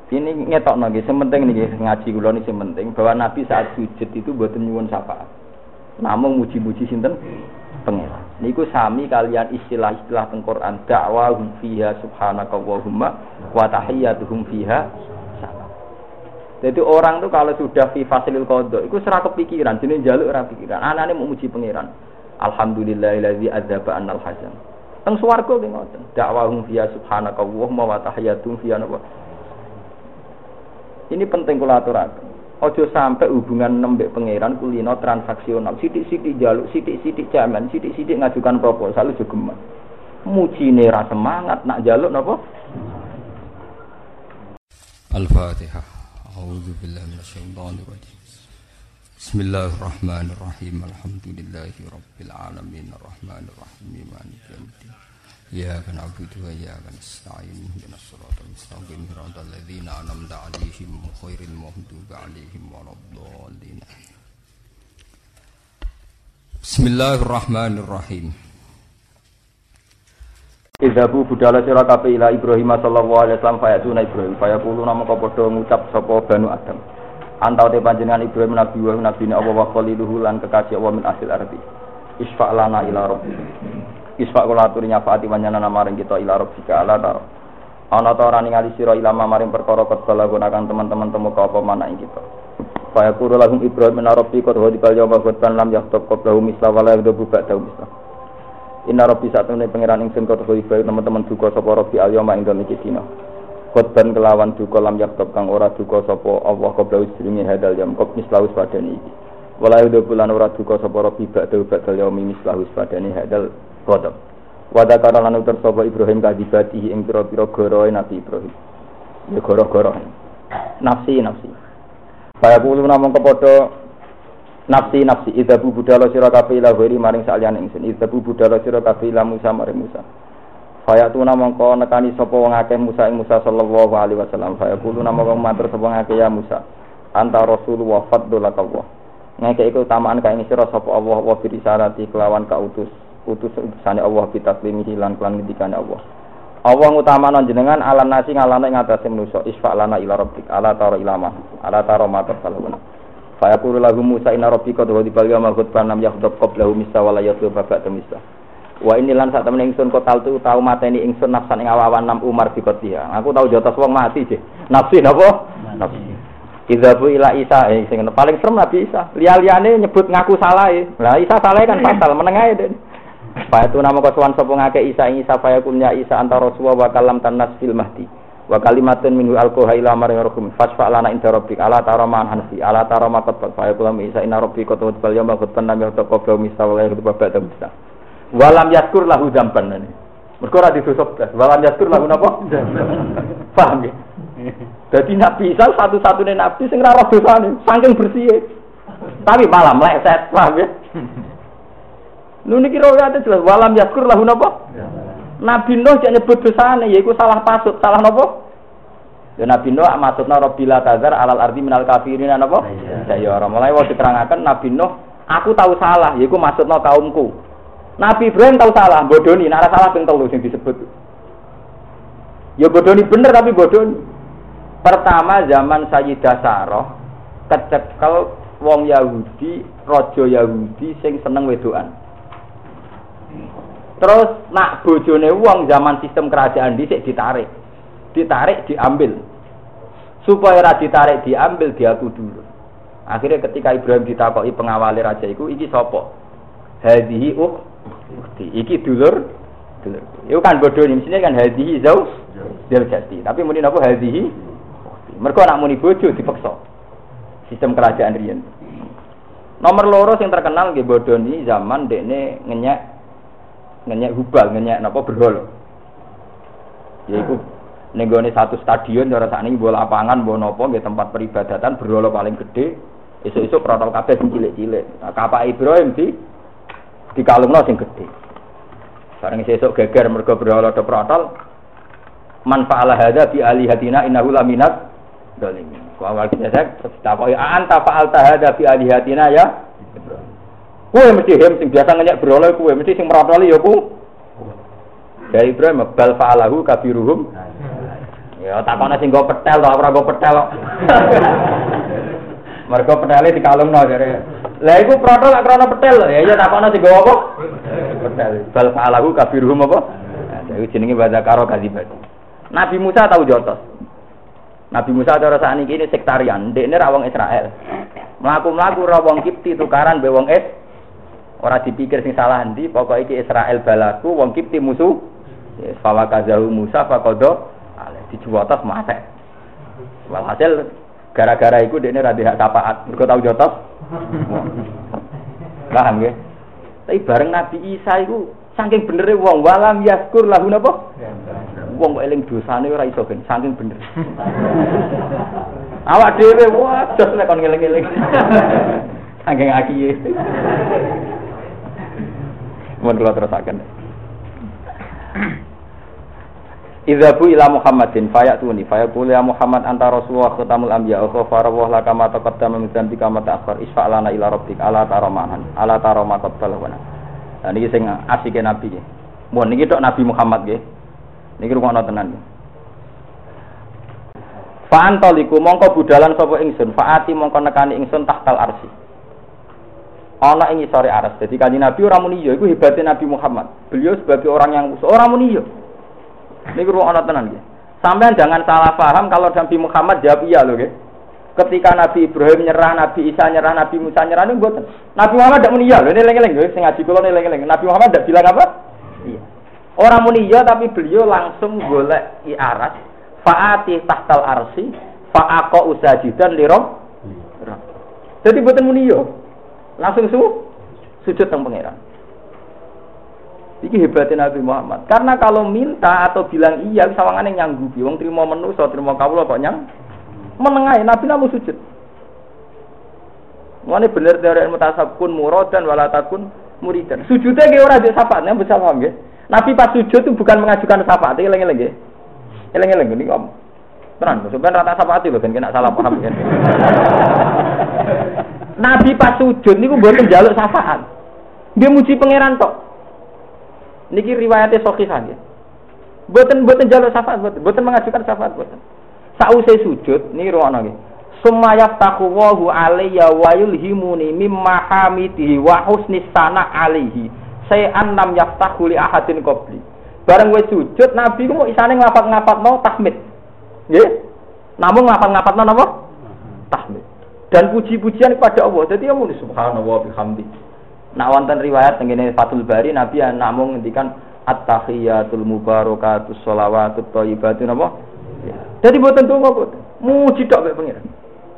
Ini ngetokno nggih, sing penting niki ngaji kula niki sing penting bahwa Nabi saat sujud itu mboten nyuwun syafaat. Namung muji-muji sinten? Pangeran. Niku sami kalian istilah-istilah teng Quran, da'wahum fiha subhanakallahumma wa tahiyyatuhum fiha salam. Jadi orang tuh kalau sudah fi fasilil qada iku ora kepikiran, jenenge njaluk ora pikiran. Anane mau muji pangeran. Alhamdulillahillazi adzaba annal hazan. Teng swarga ki ngoten. Da'wahum fiha subhanakallahumma wa tahiyyatuhum fiha salam. Ini penting kula aturaken. Aja sampai hubungan nembek pangeran kulino transaksional. Sithik-sithik njaluk, sithik-sithik jaman, sithik-sithik ngajukan proposal aja geman. Mujine ra semangat nak njaluk napa? Al-Fatihah. A'udzu billahi minasyaitonir rajim. Bismillahirrahmanirrahim. Alhamdulillahirabbil alamin arrahmanir rahim maliki yaumiddin. Iyyaka na'budu wa iyyaka nasta'in ihdinas siratal mustaqim siratal ladzina an'amta 'alaihim ghairil maghdubi 'alaihim waladdallin. Bismillahirrahmanirrahim. Idzabu budala sira kabeh ila Ibrahim sallallahu alaihi wasallam fayatuna Ibrahim fayaqulu namaka padha ngucap sapa Banu Adam. Antau te panjenengan Ibrahim nabi wa nabine Allah wa khaliluhu lan kekasih Allah min asil ardi. Isfa' lana ila rabbik. Isfa' kula aturi nyafaati panjenengan maring kita ila rabbika ala ta. Ana ta ora ningali sira ilama maring perkara kedala gunakan teman-teman temu ka apa manah kita. Fayaqulu lahum Ibrahim min rabbika wa dibal yawma ghadban lam yahtab qablahu misla wala yadbu ba'dahu misla. Inna rabbi satune pangeran ingsun kota Ibrahim teman-teman duka sapa rabbi al-yawma ing dalem iki dina. Khotban kelawan duka lam yaktab kang ora duka sapa Allah qabla sedurunge hadal yam kop mislaus padane iki. Wala yudo bulan ora duka sapa rabbi ba'dal yaumi mislaus padane hadal qadam. Wa dzakara lan utur sapa Ibrahim kadibatihi ing pira-pira goroe Nabi Ibrahim. Ya goro-goro. Nafsi. Kaya kulo namung kepada nafsi idzabu budala sira kabeh ila ghairi maring saliyane ingsun. Idzabu budala sira kabeh ila Musa maring Musa. Fayatuna mongko nekani sapa wong akeh Musa ing Musa sallallahu alaihi wasallam. Fayaqulu namaka matur sapa akeh ya Musa. Anta rasulullah fadlulakallah. Ngeke iku utamaan kae sira sapa Allah wa bi risalati kelawan utusane Allah bitaslimi lan kelan ngendikane Allah. Allah ngutamana jenengan alan nasi ngalane ngatasé manusa. Isfa' lana ila rabbik ala tara ilama. Ala tara matur salawuna. Fayaqulu lahu Musa inna rabbika wa dibal yawma ghadban lam yakhdab qablahu misa wala yatlu ba'da misa. Wa ini lan sak temen ingsun kotal tu tau mateni ingsun nafsan ing awawan nam Umar bikotiha. Aku tau jotos wong mati sih. Nafsi napa? Nafsi. Idzabu ila Isa sing paling serem Nabi Isa. Liya-liyane nyebut ngaku salah e. Lah Isa salah kan fatal meneng ae den. Fa itu nama kasuwan sapa ngake Isa ing Isa fa yakunya Isa antara Rasulullah wa kalam tanas fil mahdi. Wa kalimatun minhu alqaha ila maryam fasfa lana inda rabbik ala taraman hanfi ala taramakat fa yakulam Isa inna rabbika tawbal yawma ghadban lam yaqtabqa misa wa la yaqtabqa misa. Walam yaskur lahu dzamban ini. Mergo ora didosok blas. Walam yaskur lahu napa? Paham ya? Dadi Nabi Isa satu-satunya nabi sing ora roh dosane, saking bersih. Tapi malah meleset, paham ya? Lho niki riwayate jelas walam yaskur lahu napa? Nabi Nuh cek nyebut dosane yaiku salah pasut, salah napa? Ya Nabi Nuh maksudna Rabbila tazar alal ardi minal kafirin napa? Ya ora mulai wis diterangaken Nabi Nuh, aku tahu salah yaiku maksudna kaumku. Nabi Ibrahim tahu salah, bodoni, nek salah ping 3 sing disebut. Ya bodoni bener tapi bodoni. Pertama zaman Sayyidah Sarah kecekel wong Yahudi, raja Yahudi sing seneng wedokan. Terus nak bojone wong zaman sistem kerajaan dhisik ditarik. Ditarik diambil. Supaya ora ditarik diambil diaku dulu. Akhirnya ketika Ibrahim ditakoki pengawale raja iku iki sapa? Hadhihi ukti. Iki dulur. Iku kan bodoh ini mestine kan hadhihi zauj jati. Tapi muni napa hadhihi ukti. Mergo anak muni bojo dipaksa. Sistem kerajaan riyen. Nomor loro sing terkenal nggih bodoh ini zaman dekne ngenyek hubal, ngenyek napa berhala. Yaiku ning gone satu stadion cara sakniki bola lapangan mbok napa nggih tempat peribadatan berhala paling gede. Esuk-esuk protol kabeh sing cilik-cilik. Nah, kapak Ibrahim dikalungno sing gedhe. Bareng sesuk geger mergo berhala do protol. Man fa'ala hadza bi alihatina innahu laminat zalimin. Wa wal kitab takoki anta fa'alta hadza bi alihatina ya Ibrahim. Kowe mesti sing biasa ngenyek berhala kowe mesti sing merotoli ya ku. Dari Ibrahim bal fa'alahu kabiruhum. Ya takone sing go petel to ora go petel kok. Mergo petele dikalungno jare. Lah iku protol lak krana petel lho. Ya takone sing go apa? Petel. Bal fa'alahu kabiruhum apa? Nah, iku jenenge bahasa karo kadzibati. Nabi Musa tahu jotos. Nabi Musa cara sakniki ini sektarian, ndekne ra wong Israel. Mlaku-mlaku ra wong Kipti tukaran be wong ora dipikir sing salah endi, pokoke iki Israel balaku, wong Kipti musuh. Ya fawakazahu Musa faqada ale dijuwotos mate. Walhasil gara-gara iku dekne ra dihak syafaat, mergo tau jotos. Paham nggih? Tapi bareng Nabi Isa iku saking benere wong walam yaskur lahu napa? Wong kok eling dosane ora iso ben saking bener. Awak dhewe waduh nek kon ngeling-eling. Saking akiye. Mun kula terusaken. Idzabu ila Muhammadin fayatuni fayaqulu ya Muhammad anta rasulullah khatamul anbiya wa farawah laka ma taqaddama min dzambika ma ta'akhkhar isfa'lana ila rabbik ala taramahan ala tarama qabbalana. Nah niki sing asike nabi nggih. Mun niki tok Nabi Muhammad nggih. Niki rungokno tenan nggih. Fa antaliku mongko budalan sapa ingsun faati mongko nekani ingsun tahtal arsy. Ana ing isore aras. Dadi kanjeng Nabi ora muni ya iku hebate Nabi Muhammad. Beliau sebagai orang yang ora muni ya. Niku ana tenan nggih. Sampeyan jangan salah paham kalau Nabi Muhammad jawab iya lho nggih. Ketika Nabi Ibrahim nyerah, Nabi Isa nyerah, Nabi Musa nyerah niku mboten. Nabi Muhammad ndak muni iya lho, eling-eling nggih sing ngaji kula eling-eling. Nabi Muhammad ndak bilang apa? Iya. Orang muni iya tapi beliau langsung golek aras. Fa'ati tahtal arsy fa'aqa usajidan li rabb. Jadi mboten muni iya. Langsung sujud teng pangeran. Iki hebatnya Nabi Muhammad. Karena kalau minta atau bilang iya, sawangane nyanggupi. Wong trimo manusa, trimo kawula kok nyang menengahe Nabi namu sujud. Mulane bener teori mutasabkun muradan wala takun muridan. Sujude ge ora ndek syafaat, nang bisa paham nggih. Nabi pas sujud itu bukan mengajukan syafaat, eling-eling nggih. Eling-eling niku om. Tenan, sampeyan rata syafaat lho ben kena salah paham kan. Nabi pas sujud niku mboten njaluk syafaat. Nggih muji pangeran tok. Niki riwayate sahihah nggih. Mboten njaluk syafaat, mboten mengajukan syafaat mboten. Sause sujud niki ruwono nggih. Summa yaftahu Allahu alayya wa yulhimuni mimma hamidihi wa husnis sana alaihi. Sayan lam yaftahu li ahadin qabli. Bareng wis sujud Nabi ku mau isane ngafat-ngafatno tahmid. Nggih. Namung ngafat-ngafatno napa? Tahmid. Dan puji-pujian kepada Allah. Jadi ya muni subhanallah bihamdi. Nak wonten riwayat tengene Fathul Bari Nabi namung ngendikan at-tahiyatul mubarakatus sholawatut thayyibatu napa? Ya. Jadi mboten donga kok. Muji tok mek pangeran.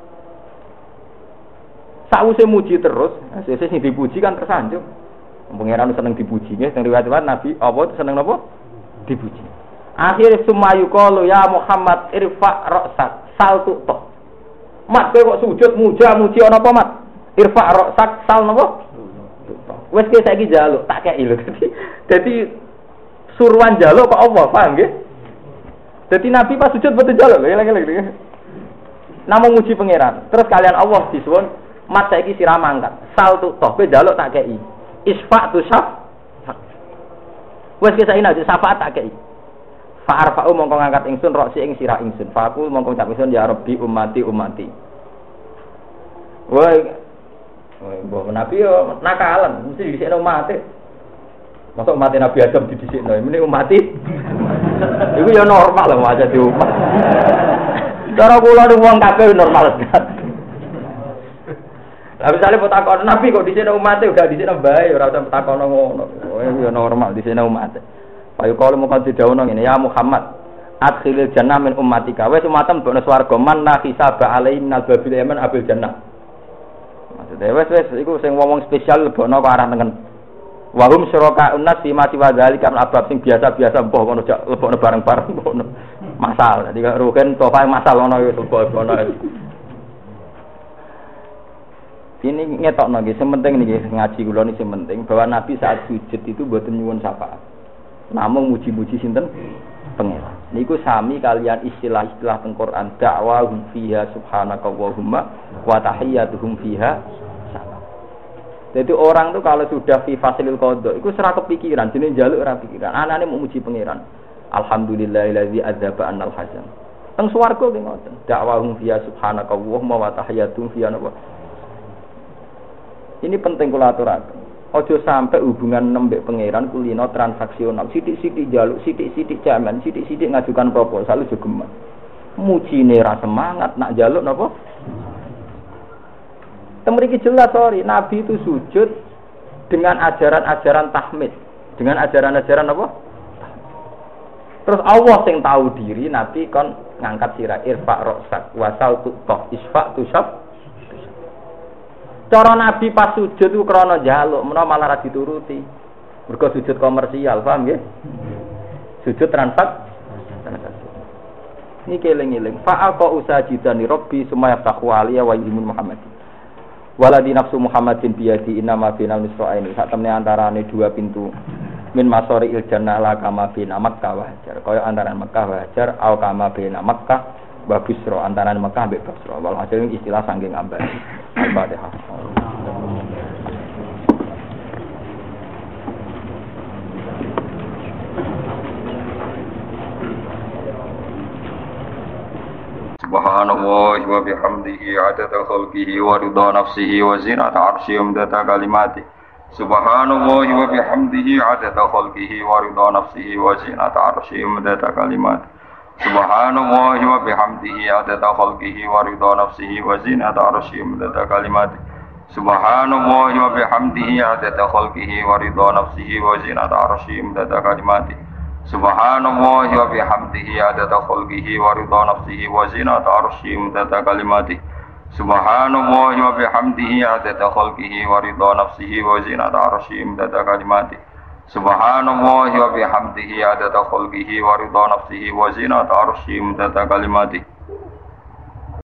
Sakwise muji terus, sesuk sing dipuji kan tersanjung. Pangeran seneng dipuji nggih, teng riwayat Nabi apa seneng napa? Dipuji. Akhire sumayu qalu ya Muhammad irfa ra'sak saltu to. Mat kowe kok sujud muji ana apa mat? Irfa ra'sak sal napa? Wes ki saiki njaluk tak kei lho. Dadi suruhan njaluk kok apa, paham nggih? Dadi Nabi pas sujud betul njaluk lho, eling-eling. Namung muji pangeran. Terus kalian Allah disuwun, mat saiki sira mangkat. Sal tu toh kowe njaluk tak kei. Isfa tu syaf. Wes ki saiki nek syafaat tak kei. Fa arfa'u mongko ngangkat ingsun roksi ing sira ingsun. Fa aku mongko ngucap ingsun ya Rabbi ummati. Woi mbok Nabi yo nakalan, mesti dhisikno umat. Mosok umat Nabi Adam didhisikno, mene umat. Iku yo normal lho aja di umat. Cara kula niku wong kabeh normal. Lah misale potakon Nabi kok dhisikno umat e gak dhisikno bae, ora usah potakon ngono. Yo normal dhisikno umat. Payu kalau mau didhawuhno ngene, ya Muhammad, adkhilil jannah min ummatika. Wis umatem bono swarga man la hisaba alaihi minal babil yaman abil jannah. Maksudnya wes iku sing wong spesial lebono kok arah tengen. Wa hum syuraka unnas fi ma siwa dzalika al-abab sing biasa-biasa mbah ngono jak lebokno bareng-bareng ngono. Masal. Jadi rugen tofa masal ngono ya lebono. Ini ngetokno nggih, sing penting niki ngaji kula niki sing penting bahwa Nabi saat sujud itu mboten nyuwun syafaat. Namung muji-muji sinten? Pangeran. Niku sami kalian istilah-istilah teng Quran da'wahum fiha subhanakallahumma wa tahiyyatuhum fiha salam. Jadi orang tuh kalau sudah fi fasilil qada iku ora kepikiran jenenge njaluk ora pikiran. Anane mau muji pangeran. Alhamdulillahillazi adzaba annal hazan. Teng swarga nggih ngoten. Dakwahum fiya subhanakallahumma wa tahiyatum fiya napa. Ini penting kula aturaken. Aja sampai hubungan nembek pangeran kulino transaksional. Sithik-sithik njaluk, sithik-sithik jaman, sithik-sithik ngajukan proposal aja geman. Mujine ra semangat nak njaluk napa? Temriki jelas sorry, Nabi itu sujud dengan ajaran-ajaran tahmid, dengan ajaran-ajaran apa? Terus Allah sing tahu diri, Nabi kon ngangkat sirah irfa roksak wasal tutoh isfa tusab. Cara Nabi pas sujud itu krana njaluk, menawa malah ra dituruti. Mergo sujud komersial, paham nggih? Sujud transaksi. Niki eling-eling. Fa'aqa usajidani rabbi summa yaftahu aliya wa yuhimun Muhammad. Waladi nafsu Muhammadin biyadi innama binal misra'aini. Sak temne antarane dua pintu. Min masori il jannah la kama bina Makkah wa Hajar. Kaya antaran Makkah wa Hajar au kama bina Makkah wa Busra, antaran Makkah mbek Busra. Wal hasil istilah saking ambal. Al-Fatihah. Subhanallah wa bihamdihi adada khalqihi wa ridha nafsihi wa zinata arsyihi wa midada kalimatihi. Subhanallah wa bihamdihi adada khalqihi wa ridha nafsihi wa zinata arsyihi wa midada kalimatihi. Subhanallah wa bihamdihi adada khalqihi wa ridha nafsihi wa zinata arsyihi wa midada kalimatihi. Subhanallah wa bihamdihi adada khalqihi wa ridha nafsihi wa zinata arsyihi wa midada kalimatihi. Subhanallah wa bihamdihi adada khalqihi wa ridha nafsihi wa zinata arsyihi wa midada kalimatihi. Subhanallah wa bihamdihi adada khalqihi wa ridha nafsihi wa zinata arsyihi wa midada kalimatihi. Subhanallah wa bihamdihi adada khalqihi wa ridha nafsihi wa zinata arsyihi wa midada kalimatihi.